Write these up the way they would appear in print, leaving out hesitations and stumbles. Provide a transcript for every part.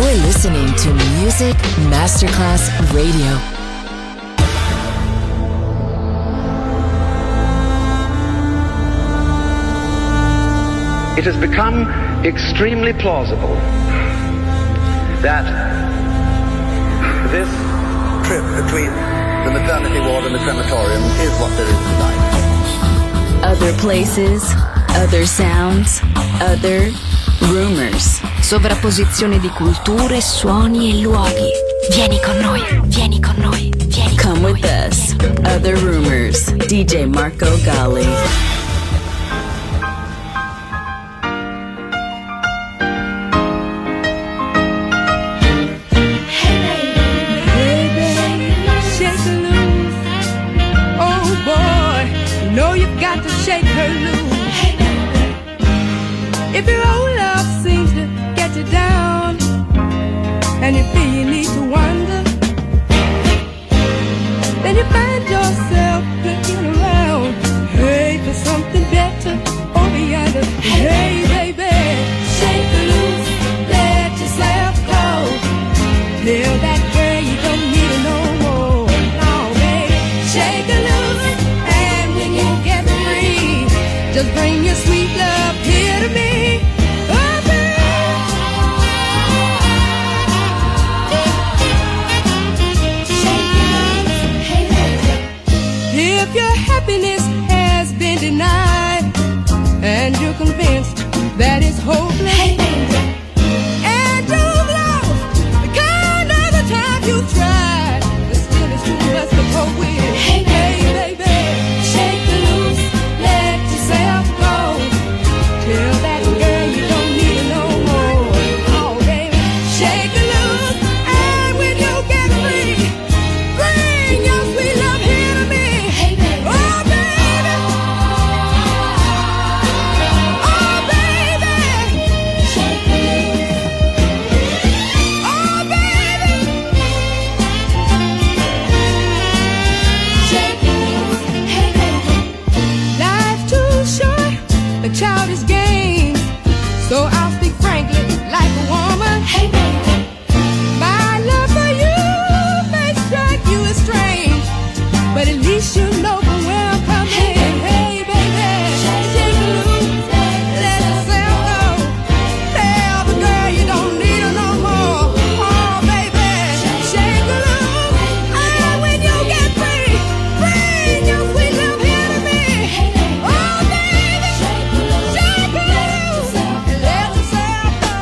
You're listening to Music Masterclass Radio. It has become extremely plausible that this trip between the maternity ward and the crematorium is what there is tonight. Other places, other sounds, other rumors. Sovrapposizione di culture, suoni e luoghi. Vieni con noi, vieni con noi, vieni con Come noi. with us. Other rumors. DJ Marco Gally. Got to shake her loose. If your old love seems to get you down, and you feel you need to wander, then you find yourself looking around, hey, for something better over yonder. Hey, baby, shake her loose, let yourself go. Tell that girl you don't need her no more. No, baby, shake her loose, and when you get free, just bring your sweet love here to me. Oh, baby. If your happiness has been denied, and you're convinced that it's hopeless, and you've lost the kind of the time you tried, but still it's too much to cope with. Hey, baby, shake her loose, let yourself go. Tell that girl you don't need her no more. Oh, baby, shake her loose, and when you get free, bring your sweet love here to me. Oh, baby. Oh, baby. Shake her loose. Oh, baby. Shake her loose. Hey, baby. Life's too short, a childish game. So I'll speak frankly, like a woman. Hey, baby. My love for you may strike you as strange, but at least you know from where I'm coming. Hey, baby, shake her loose, let yourself go. Tell the girl you don't need her no more. Oh, baby, shake her loose, and when you get free, bring your sweet love here to me. Oh, baby, shake her loose, and let yourself go.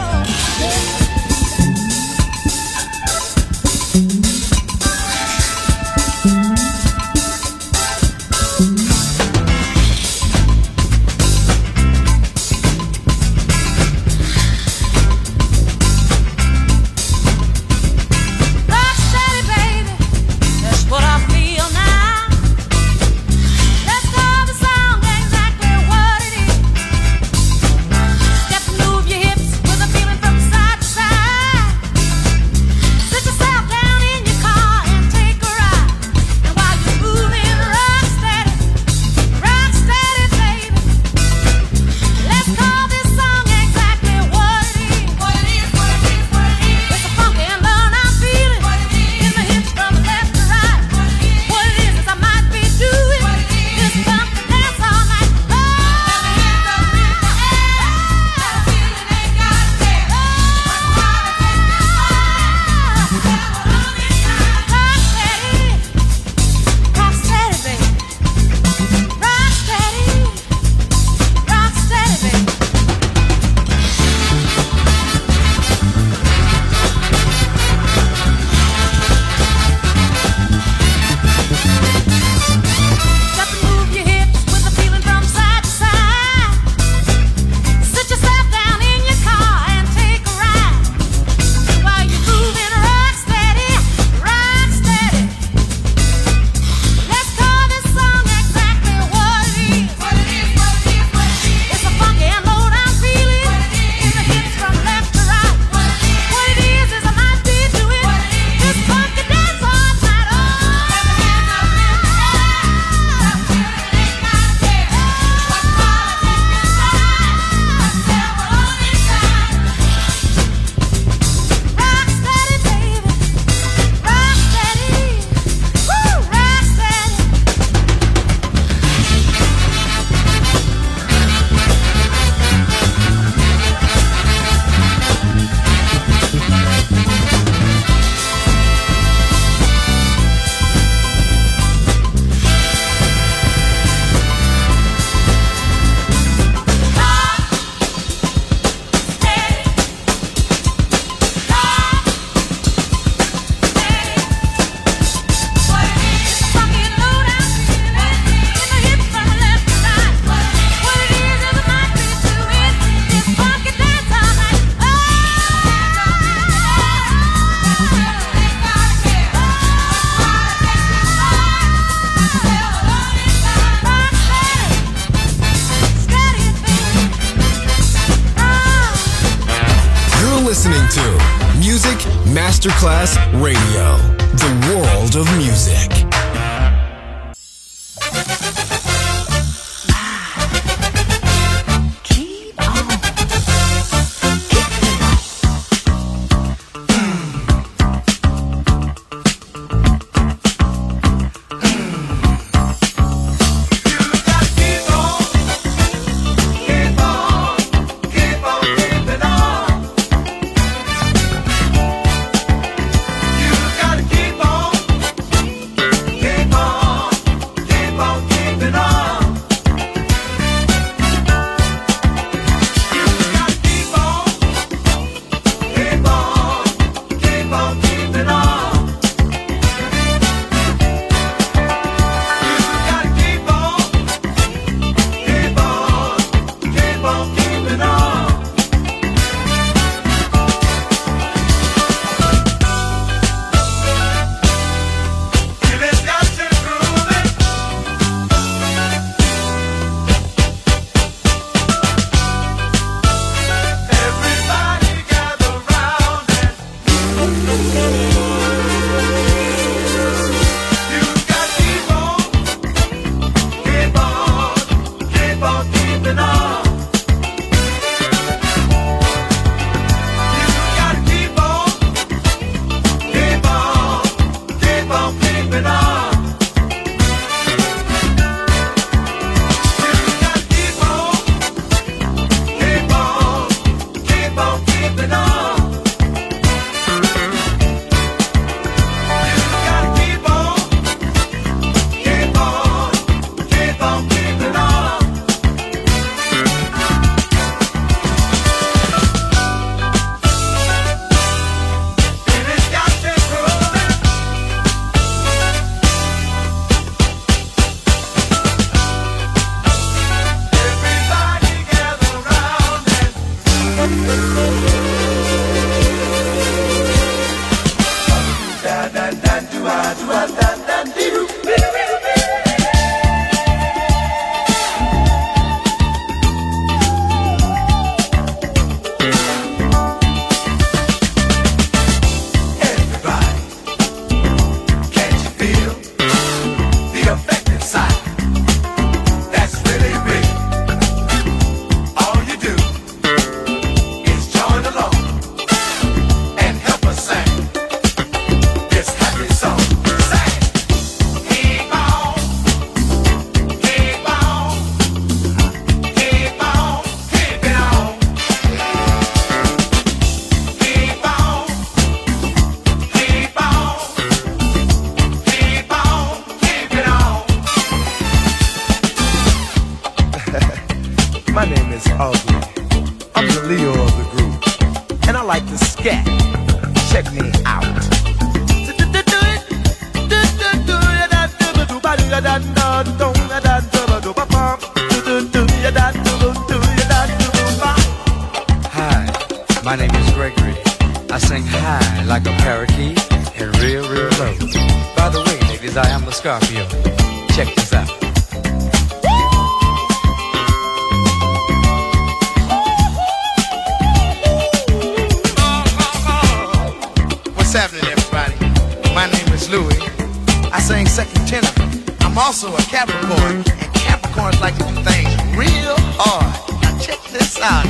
listening to Music Masterclass Radio, the world of music. My name is Gregory. I sing high like a parakeet and real, real low. By the way, ladies, I am the Scorpio. Check this out. What's happening, everybody? My name is Louis. I sing second tenor. I'm also a Capricorn, and Capricorns like to do things real hard. Now check this out.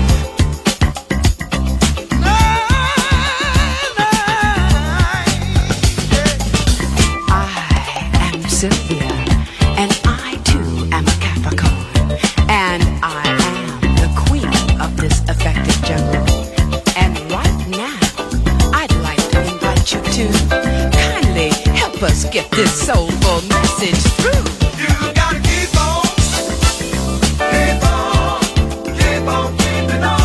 Sylvia, and I too am a Capricorn, and I am the queen of this effective jungle. And right now, I'd like to invite you to kindly help us get this soulful message through. You gotta keep on, keep on, keep on keeping on.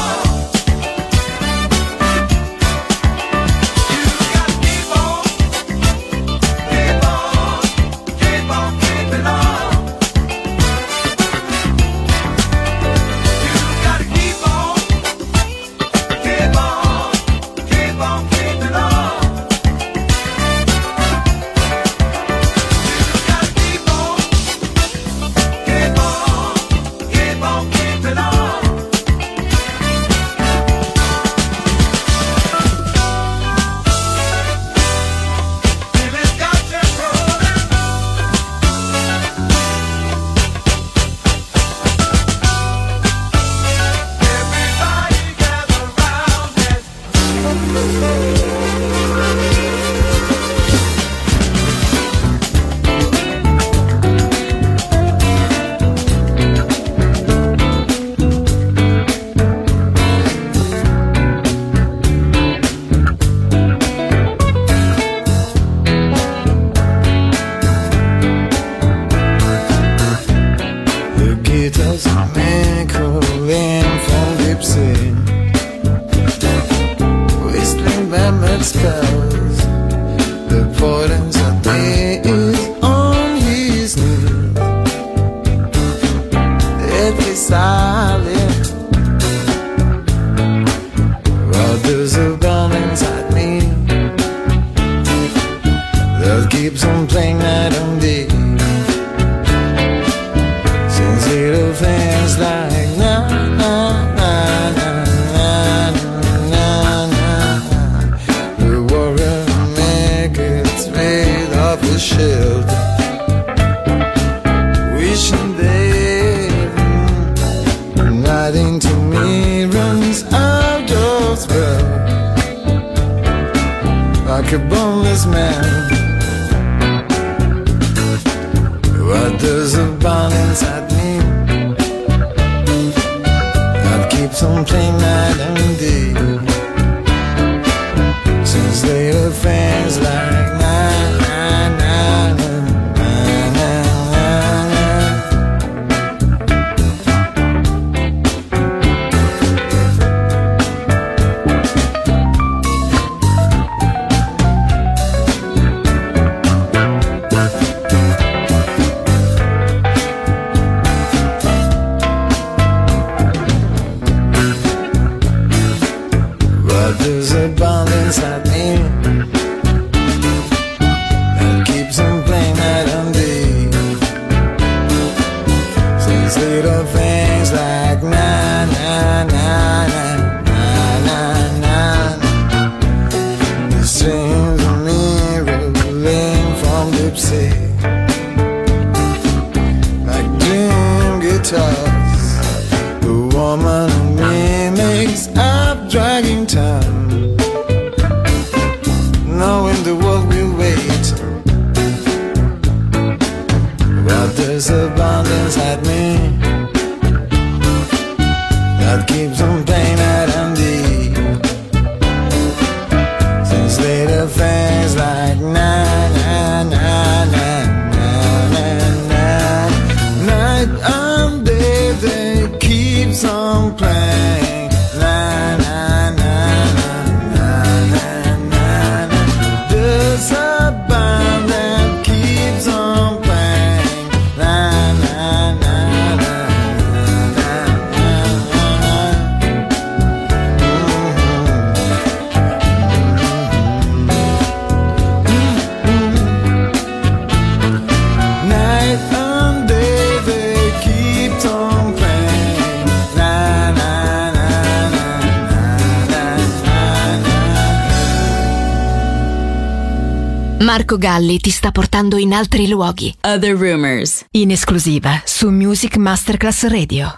remembered spells. The importance of me is on his knees. Every silent, while there's a burn inside me that keeps on playing night and day. Since little things like na na na na na na na, the warrior make its way off the shield, wishing they right into me runs out of spell, like a boneless man. But there's a bond inside me that keeps on playing night and day. Since later things like na na na na na there's a bond inside me that keeps on playing night and day. Since little things like na na na na na na na, the strings of me rolling from deep sea, like dream guitars. The woman in me makes up dragging time, knowing the world will wait. But there's a bond inside me that keeps on playing night and day. Since later things like na na na na na na, night and day they keeps on playing na na na na na na. There's a band that keeps on playing na na na na na na. Night and day they keep on playing na na na na na na. Marco Galli ti sta portando in altri luoghi. Other Rumors. In esclusiva su Music Masterclass Radio.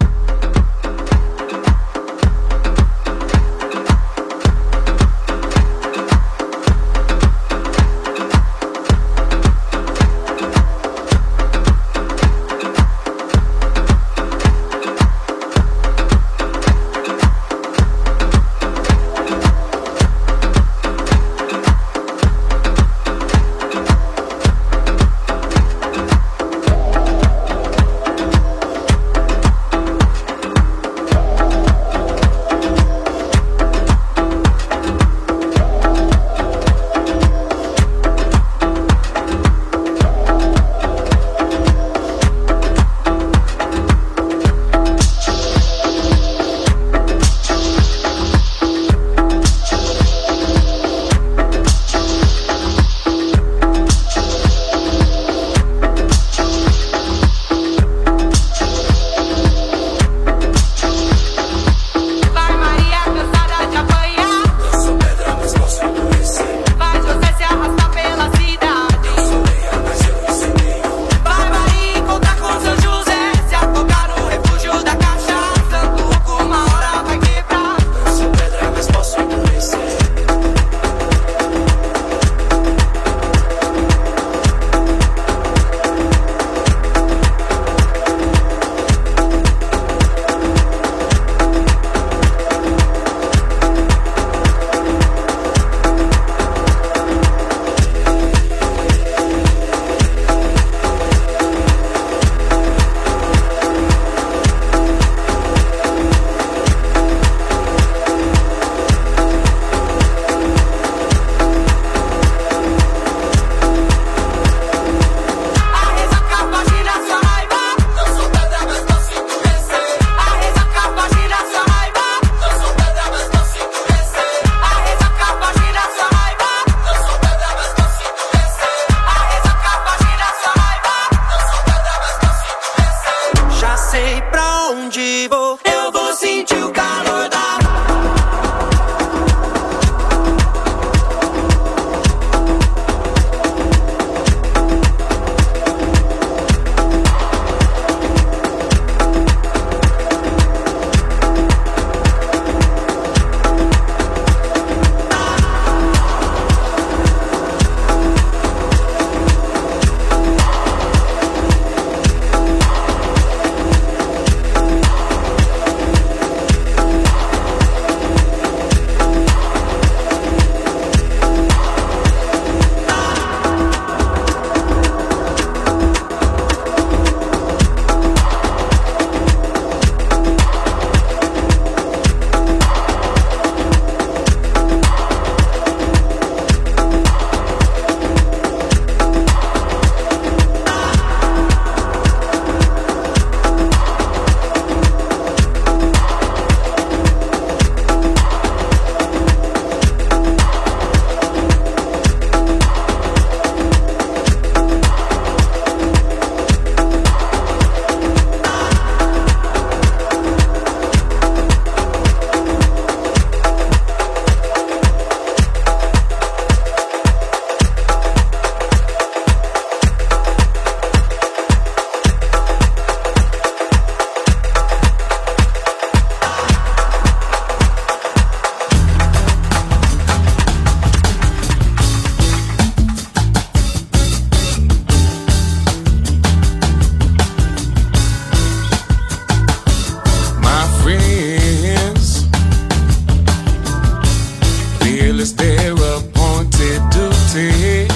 it's their appointed duty.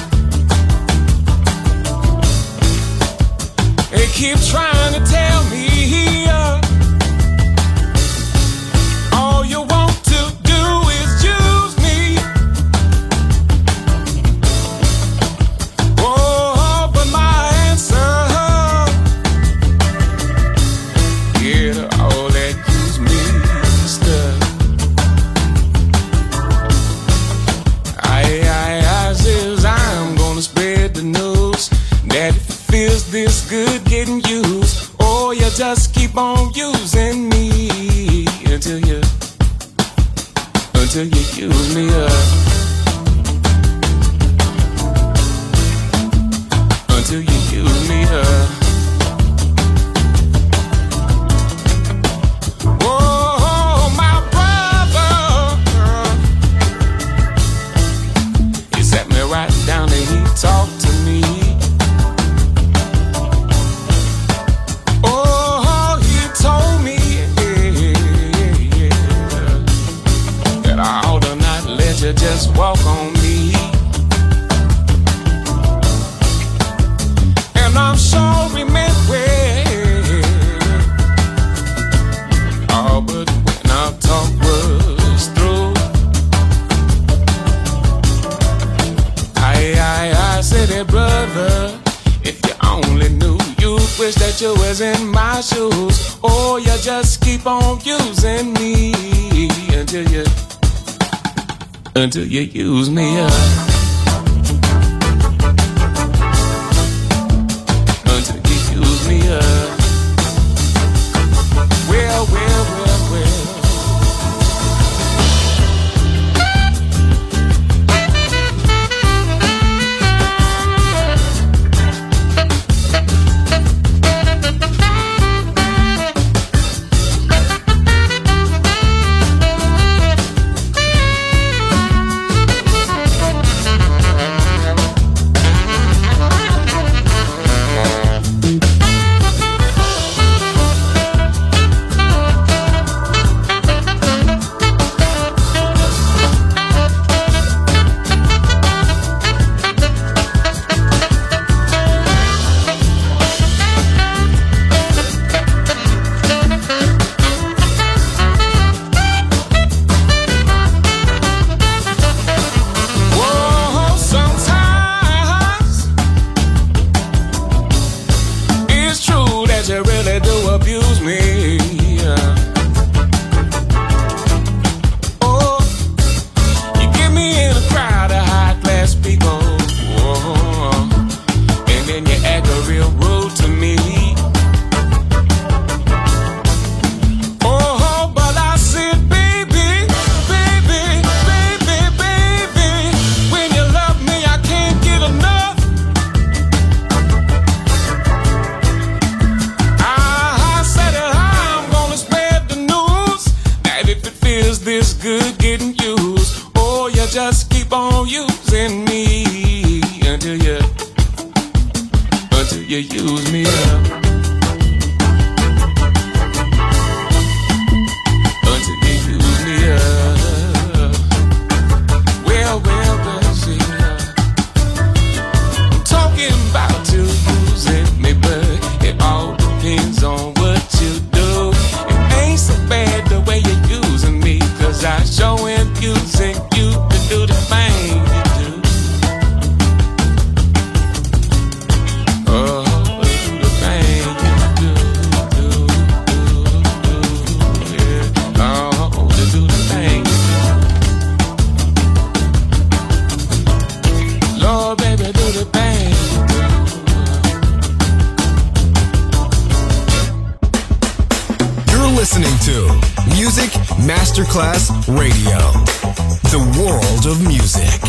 They keep trying to tell me all you want to do is use me. Oh, but my answer, yeah, all that use me stuff. I says I'm gonna spread the news that if it feels this good getting used, oh, you just keep on using me until you use me up. Until you use me up. Oh, my brother, he sat me right down and he talked to me. Oh, he told me that I ought to not let you just walk on me. And I'm sure he meant well. Oh, but when our talk was through, I said, hey, brother, if you only knew, you wish that you was in my shoes. Oh, you just keep on using me until you use me up. Until you use me up. Well. listening to Music Masterclass Radio, the world of music.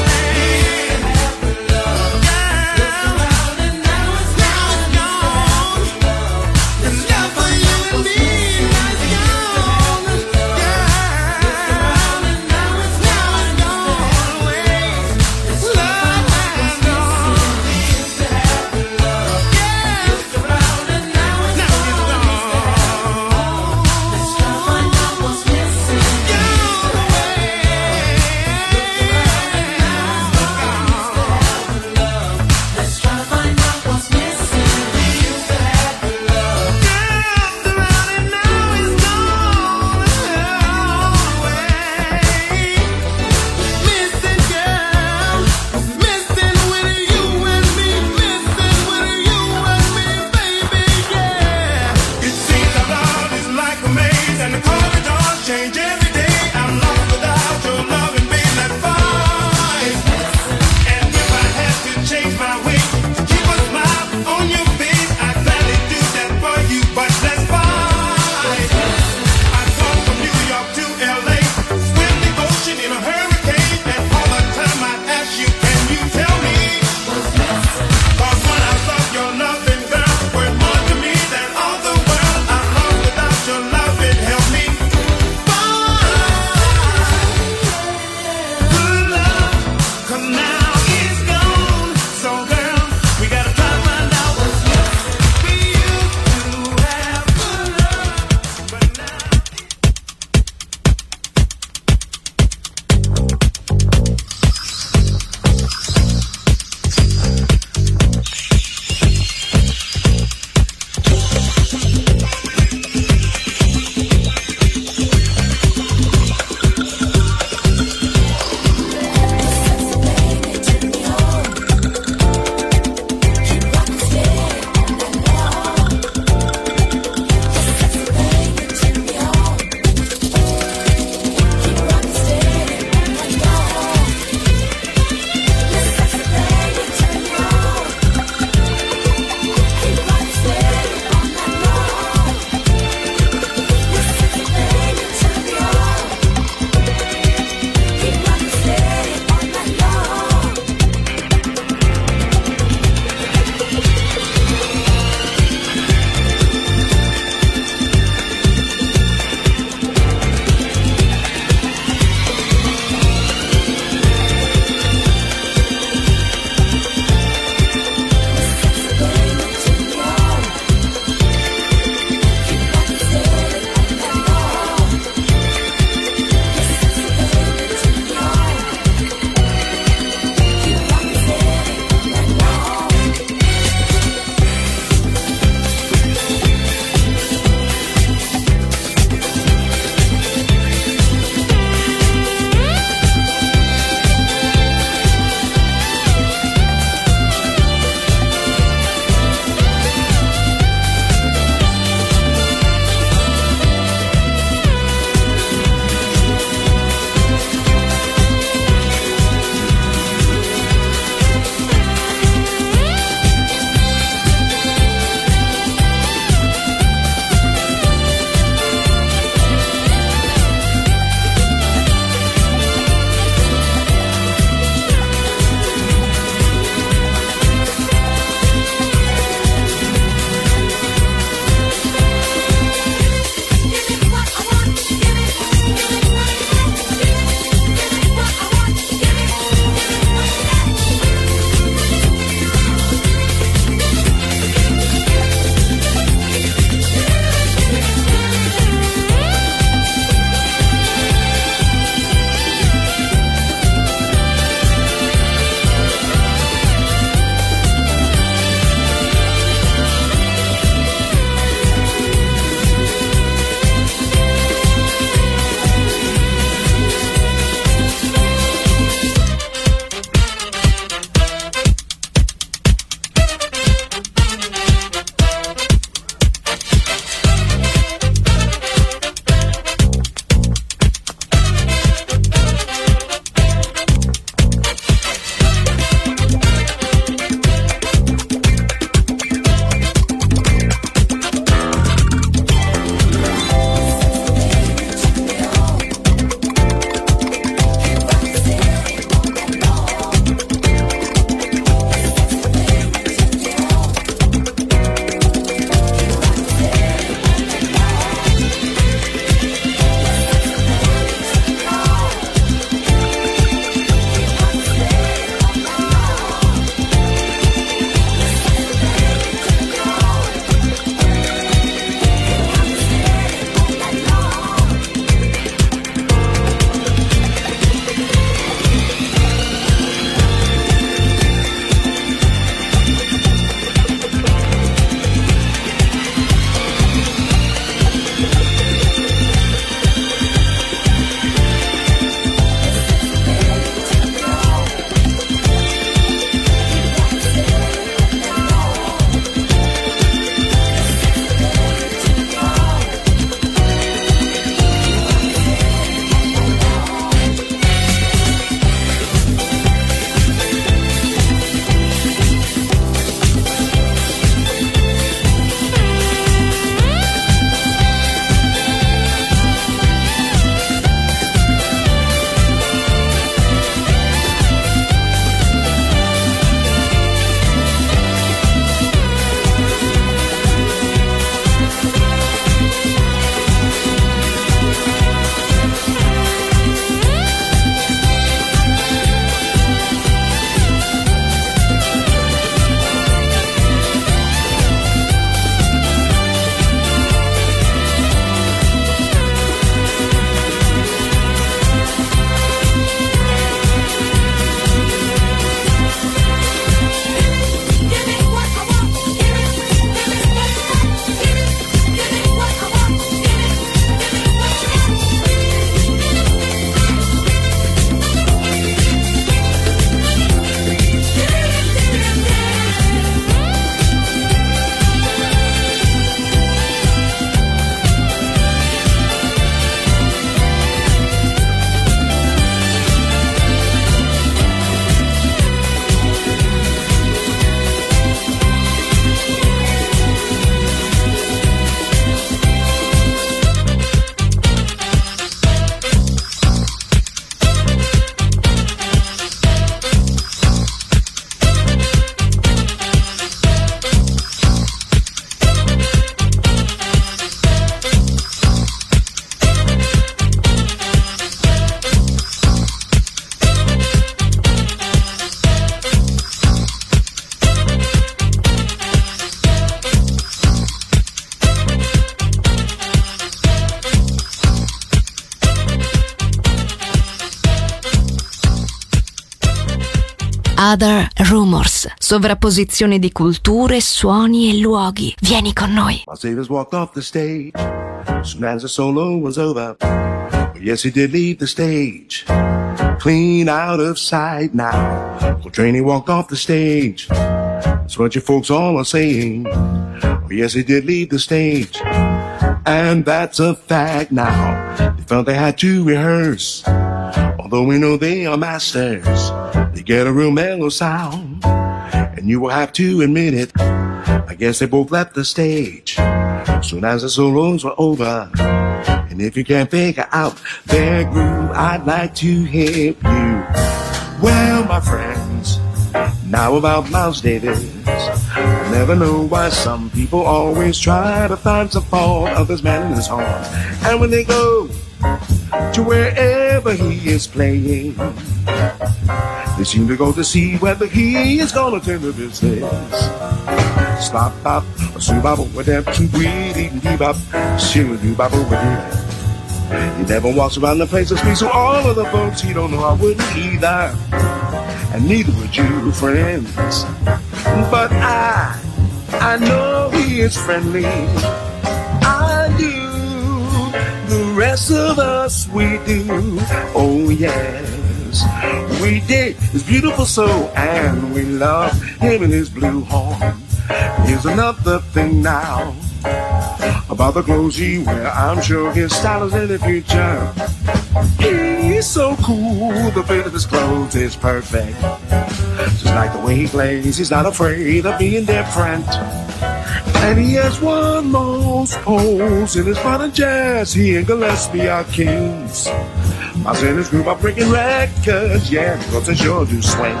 Other Rumors. Sovrapposizione di culture, suoni e luoghi. Vieni con noi. My Saviors walked off the stage soon as the solo was over. But yes, he did leave the stage, clean out of sight now. Coltrane walked off the stage. That's what you folks all are saying. But yes, he did leave the stage, and that's a fact now. They felt they had to rehearse, although we know they are masters. They get a real mellow sound, and you will have to admit it. I guess they both left the stage soon as the solos were over. And if you can't figure out their groove, I'd like to help you. Well, my friends, now about Miles Davis. I never know why some people always try to find some fault of this man in his horns. And when they go to wherever he is playing, they seem to go to see whether he is gonna turn the business. Stop, bop, subop, with them two greedy, bebop, shoo, bop, over here. He never walks around the place and speaks to all of the folks he don't know. I wouldn't either, and neither would you, friends. But I know he is friendly. I do. The rest of us, we do. Oh yes, we dig his beautiful soul, and we love him and his blue horn. Here's another thing now about the clothes he wear. I'm sure his style is in the future. He's so cool, the fit of his clothes is perfect. Just like the way he plays, he's not afraid of being different. And he has won most polls in his modern jazz. He and Gillespie are kings. Miles and his group are breaking records, yeah, because they sure do swing.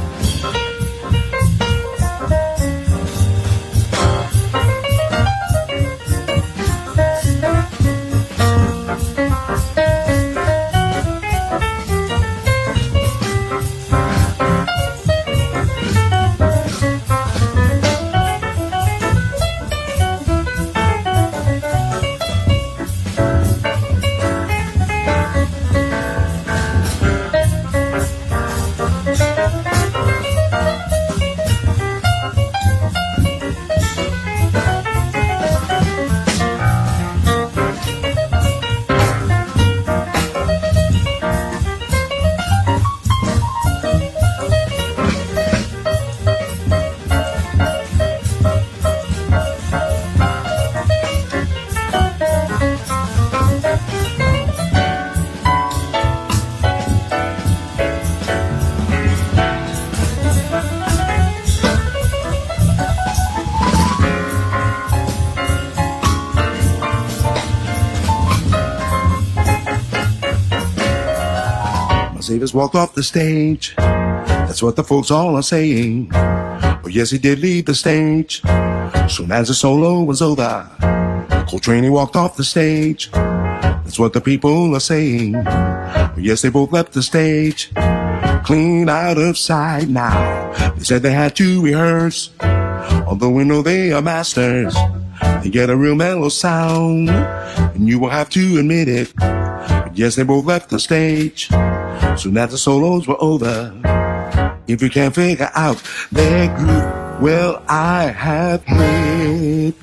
Davis walked off the stage. That's what the folks all are saying. But yes, he did leave the stage soon as the solo was over. Coltrane walked off the stage. That's what the people are saying. But yes, they both left the stage, clean out of sight now. They said they had to rehearse, although we know they are masters. They get a real mellow sound, and you will have to admit it. But yes, they both left the stage soon as the solos were over. If you can't figure out their groove, well, I have hit.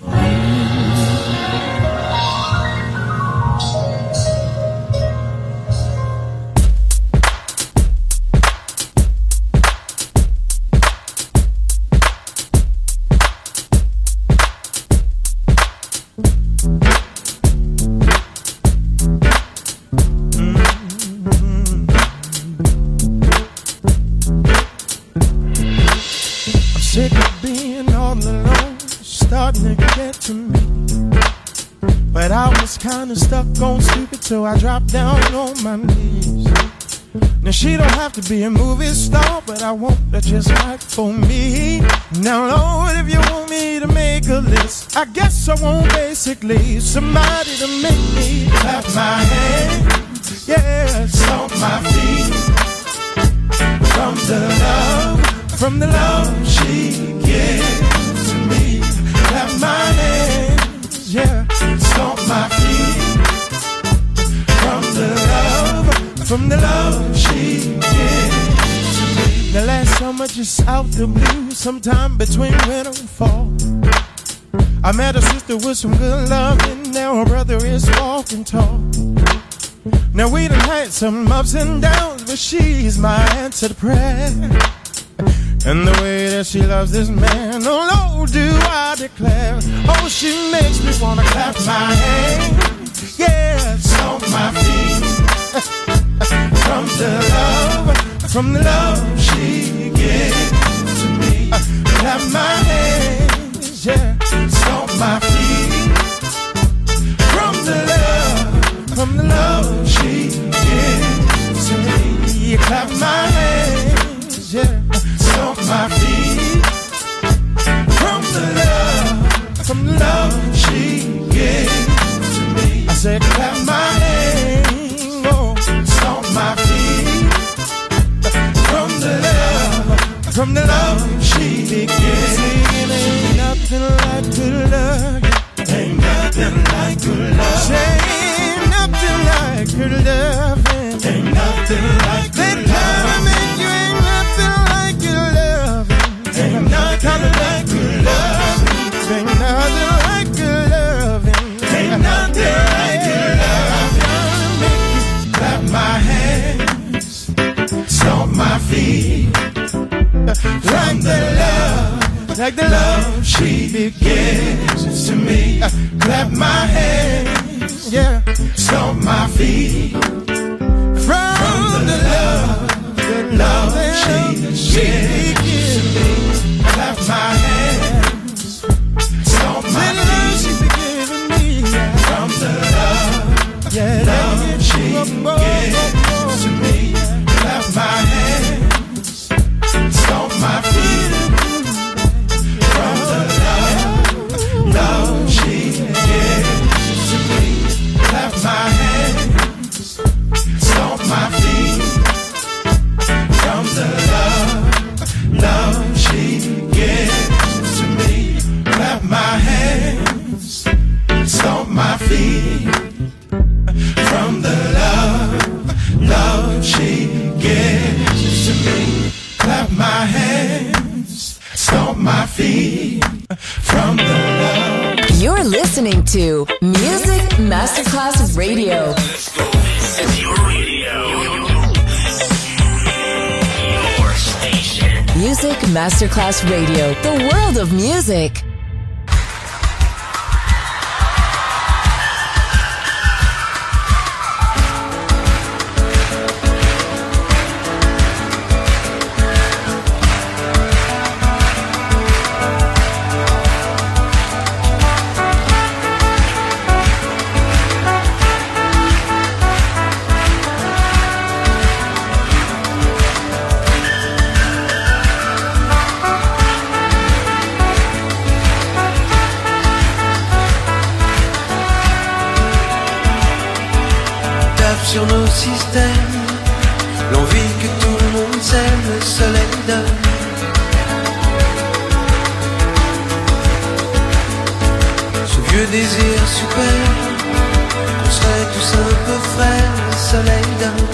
Kinda stuck on stupid, so I dropped down on my knees. Now she don't have to be a movie star, but I want her just right for me. Now Lord, if you want me to make a list, I guess I want basically somebody to make me clap my hands, yeah, stomp my feet. From the love she gives to me. Clap my hands, yeah, stomp my feet. From the love she gives to me. The last summer summer, just out the blue, sometime between winter and fall. I met a sister with some good loving, now her brother is walking tall. Now we done had some ups and downs, but she's my answer to prayer. And the way that she loves this man, oh Lord, do I declare. Oh, she makes me wanna clap my hands, yeah, stomp my feet. From the love she gives to me. Clap my hands, yeah, stomp my feet. From the love she gives to me. Clap my hands, yeah, stomp my feet. From the love she gives to me. I said clap my hands, oh, stomp my feet. From the love she gives. Ain't nothing like good love. Ain't nothing like good love. Ain't nothing like good love. Ain't nothing like good love. You ain't nothing like good love. Ain't nothing like good love. Ain't nothing like good love. Ain't nothing like good love. Make me clap my hands, stomp my feet. From the love, like the love she gives to me. Clap my hands, yeah, stomp my feet. From the love she gives to me. Clap my hands, stomp my feet. From the love she gives to me. Clap my hands, stomp my feet. From the love she gives to me. Clap my hands, stomp my feet. From the love she gives to me. Clap my hands, stomp my feet. From the love she gives to me. Clap my hands, stomp my feet. From the love. You're listening to Music Masterclass Radio. It's your radio. Your station. Music Masterclass Radio. The world of music. Sur nos systèmes, l'envie que tout le monde s'aime, le soleil donne. Ce vieux désir super, qu'on serait tous un peu frères, le soleil donne.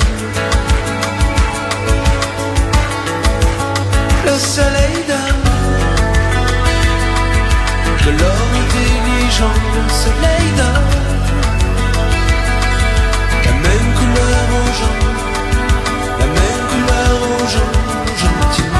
Le soleil donne de l'or intelligent, le soleil donne. La même couleur aux gens, la même couleur aux gens gentils.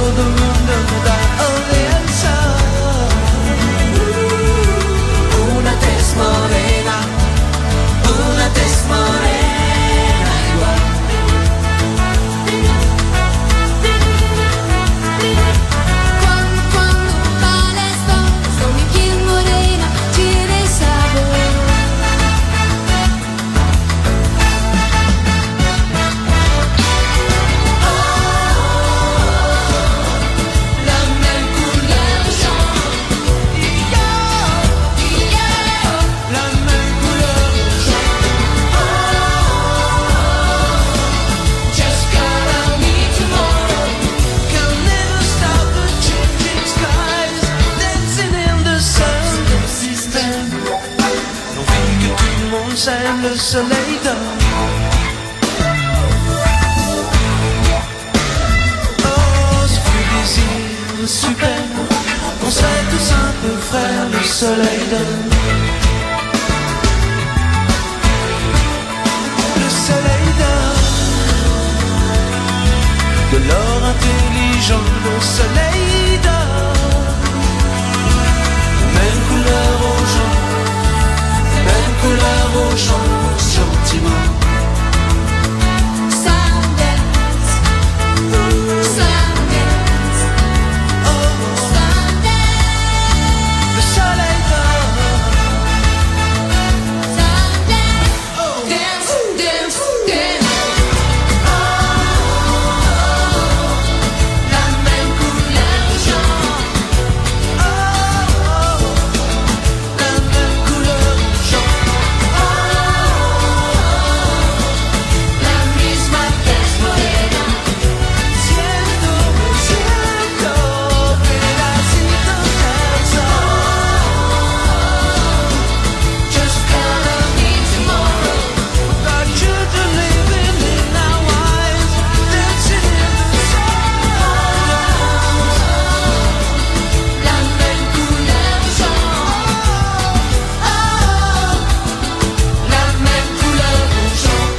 todo el mundo me da alianza. Una tez morena igual. Cuando bailas con mi piel morena tiene sabor. La même couleur jaune. La même couleur Just gotta meet tomorrow. can never stop the changing skies, dancing in the sun du système. L'envie que tout le monde s'aime, le soleil donne. Oh, ce fut désir super, on serait tous un peu frères, le soleil donne. Le soleil donne de l'or intelligent, le soleil donne. Même couleur aux gens, même couleur aux gens, gentiment. Sundance, Sundance, Sundance, Le soleil donne. Sundance, dance, dance, dance. La même couleur jaune. La même couleur jaune. La misma tez morena. Siento, pedacito del sol. Just gotta meet tomorrow. Got children living in our lives, dancing in the sun. La même couleur jaune. La même couleur jaune.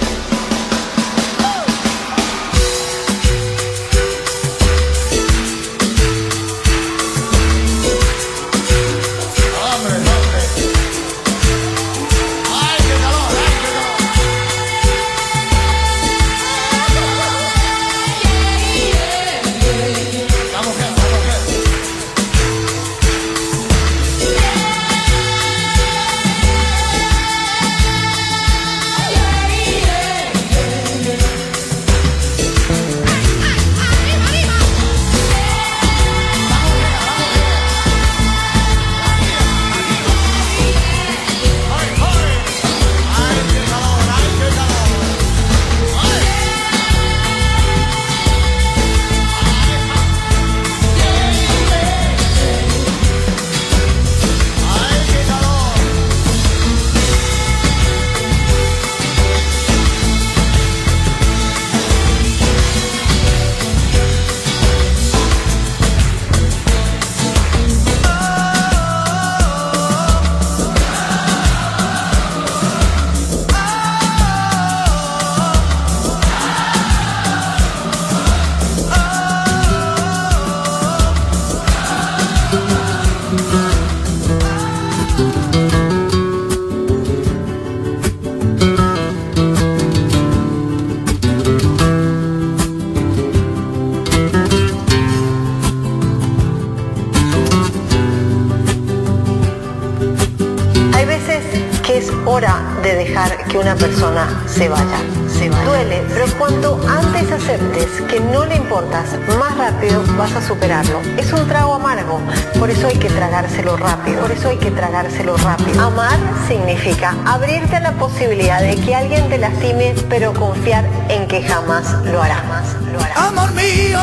Hay veces que es hora de dejar que una persona se vaya. Duele, pero cuanto antes aceptes que no le importas, más rápido vas a superarlo. Es un trago amargo, por eso hay que tragárselo rápido. Amar significa abrirte a la posibilidad de que alguien te lastime, pero confiar en que jamás lo hará. Amor mío,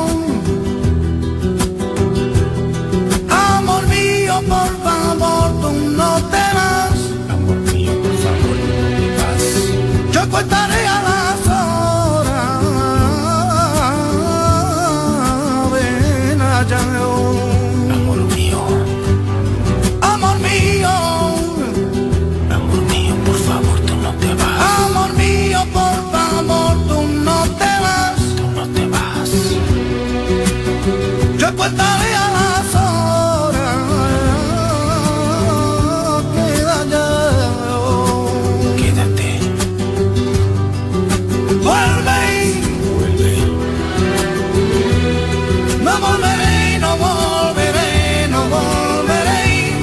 por favor, tú no te vas. Amor mío, por favor, no te vas. Yo contaré a las horas. Ven allá. Amor mío. Amor mío. Amor mío, por favor, tú no te vas. Amor mío, por favor, tú no te vas. Tú no te vas. Yo contaré a las horas que Quédate. vuelve, no volveré, no volveré, no volveré,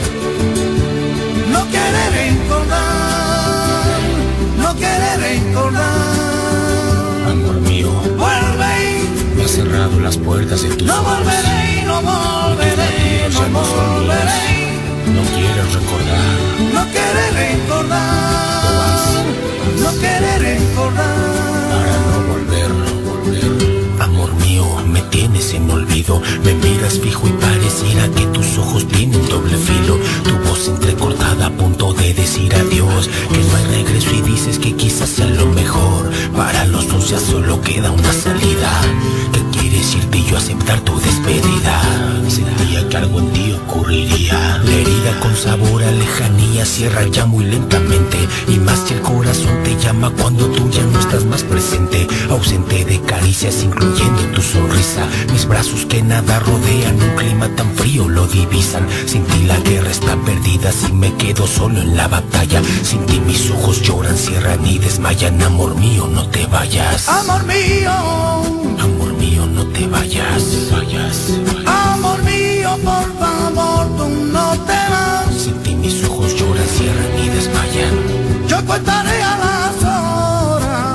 no querré recordar, no querré recordar. Amor mío, Vuelve, me has cerrado las puertas de tus no ojos. volveré, no volveré, Ya no no son volveré, míos. No quieres recordar. no querré recordar, no querré recordar. Para no volver. Amor mío, me tienes en olvido. Me miras fijo y pareciera que tus ojos tienen doble filo. Tu voz entrecortada a punto de decir adiós, que no hay regreso y dices que quizás sea lo mejor. Para los dos ya solo queda una salida. ¿Qué quieres irte y yo aceptar tu despedida? Sentía que algo en ti ocurriría. La herida con sabor a lejanía cierra ya muy lentamente. Y más si el corazón te llama cuando tú ya no estás más presente. Ausente de caricias incluyendo tu sonrisa. Mis brazos que nada rodean, un clima tan frío lo divisan. Sin ti la guerra está perdida, si me quedo solo en la batalla. Sin ti mis ojos lloran, cierran y desmayan. Amor mío, no te vayas. Amor mío, Amor mío, no te vayas. amor mío, por favor, tú no te vas. Sin ti mis ojos lloran, cierran y desmayan. Yo contaré a las horas.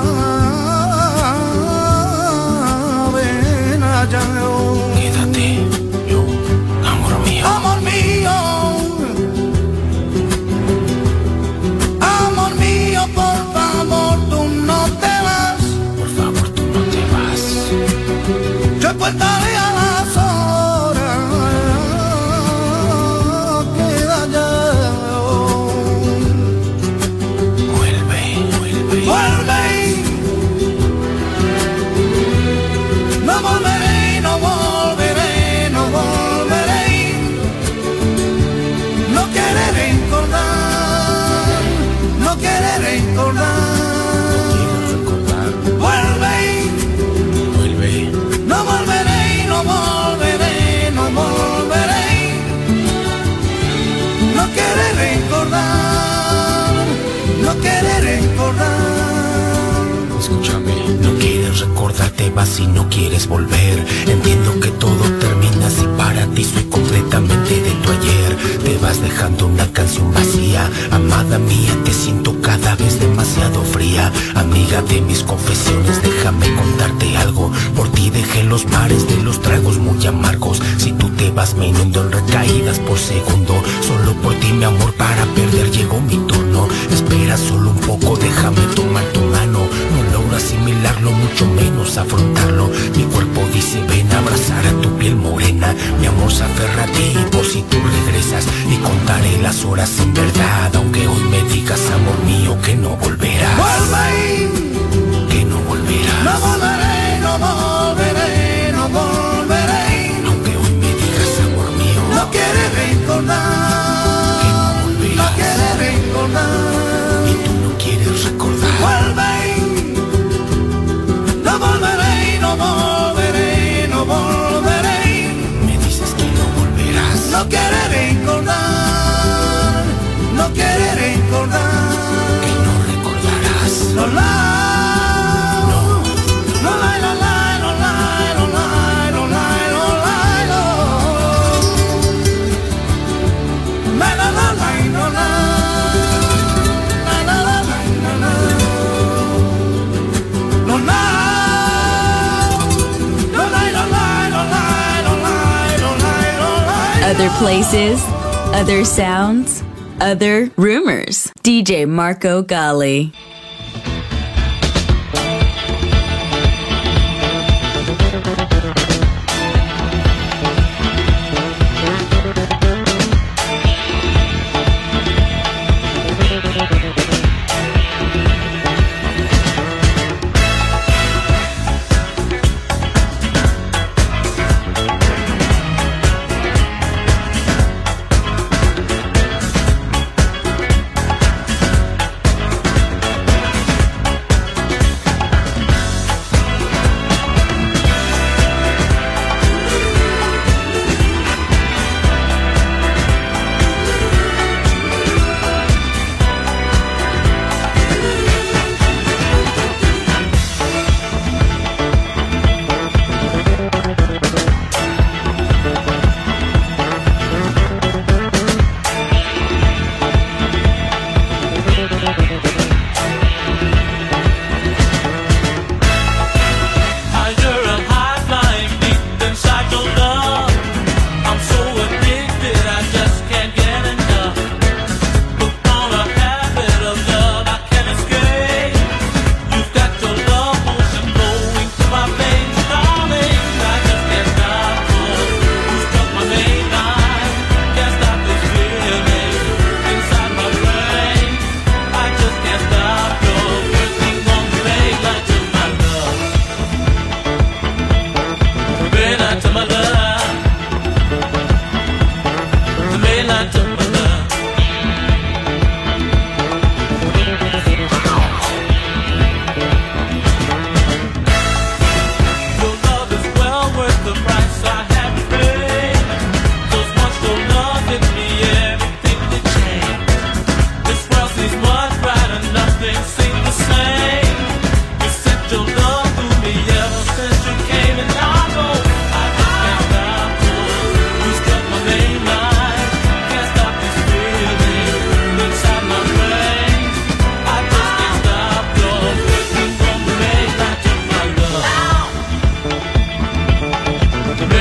Ven allá. Quédate, yo, amor mío. Amor mío, amor mío, por favor, tú no te vas. Por favor, tú no te vas. Yo contaré a las horas. Queda ya. Vuelve. No volveré, no volveré, no volveré. No querré recordar, no querré recordar. Vuelve, no volveré, no volveré, no volveré. No querré recordar, no querré recordar. Escúchame, no quieres recordar, te vas y no quieres volver. Entiendo que todo termina si para ti soy completamente de tu ayer. Te vas dejando una canción vacía. Amada mía, te siento cada vez demasiado fría. Amiga de mis confesiones, déjame contarte algo. Por ti dejé los mares de los tragos muy amargos. Si tú te vas me inundo en recaídas por segundo. Solo por ti mi amor, para perder llegó mi turno. Espera solo un poco, déjame tomar tu mano. No logro asimilarlo, mucho menos afrontarlo. Mi cuerpo dice ven a abrazar a tu piel morena. Mi amor se aferra a ti por si tú regresas. Y contaré las horas en verdad, aunque hoy me digas amor mío que no volverás. Vuelve, Que no volverás. no volveré, no volveré, no volveré. Aunque hoy me digas amor mío. No quiere recordar, no quiere recordar. Y tú no quieres recordar. Vuelve, no volveré, no volveré, no volveré. Me dices que no volverás. No quiere recordar, no quiere recordar. Que no recordarás. No la, no la, no la, no la, no la, no la, no la, no. La la la la no la, la la la la no la, no la, no la, no la, no la, no la, no la. Other places, other sounds, other rumors. DJ Marco Gali.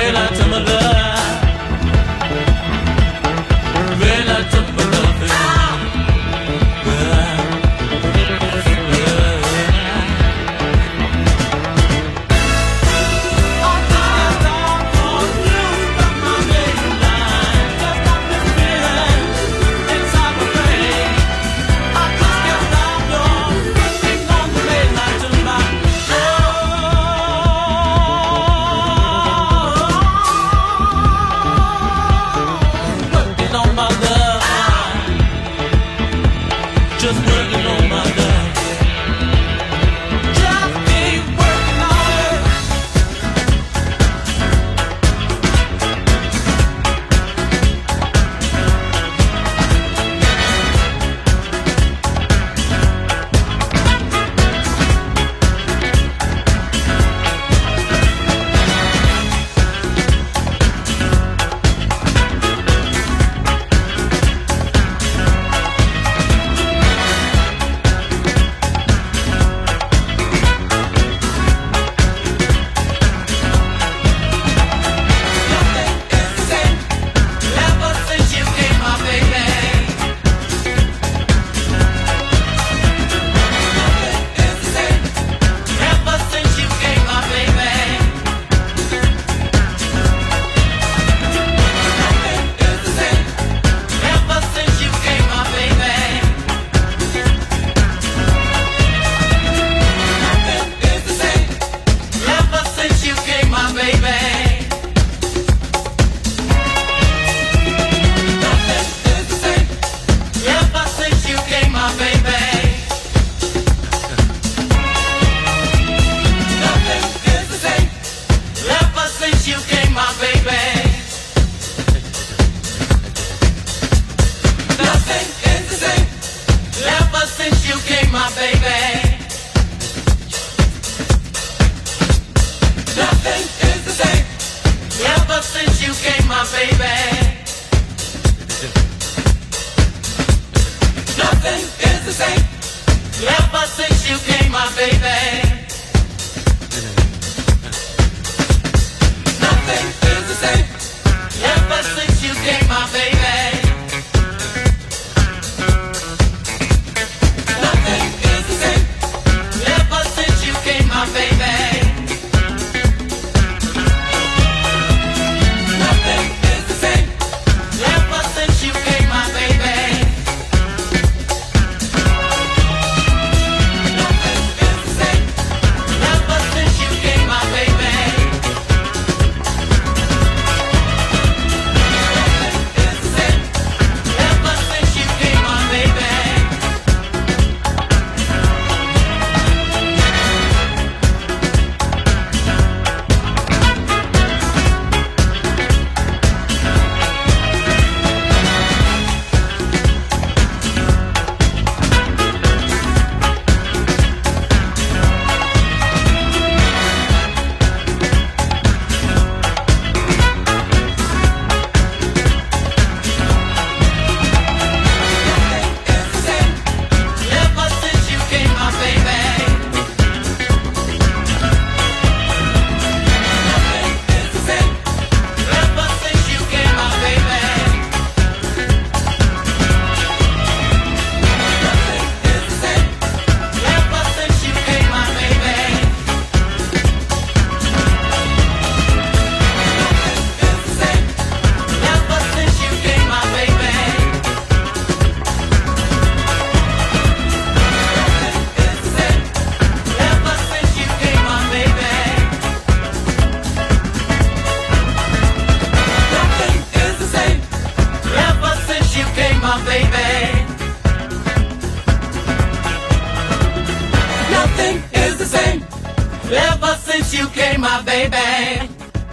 since you came, my baby.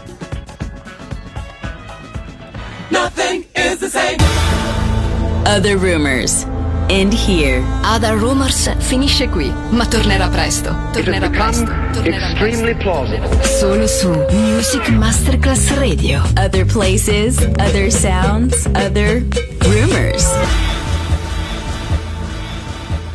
Nothing is the same. Other Rumors. End here. Other Rumors finisce qui, ma tornerà presto. Tornerà presto. Extremely plausible. Solo su Music Masterclass Radio. Other places, other sounds, other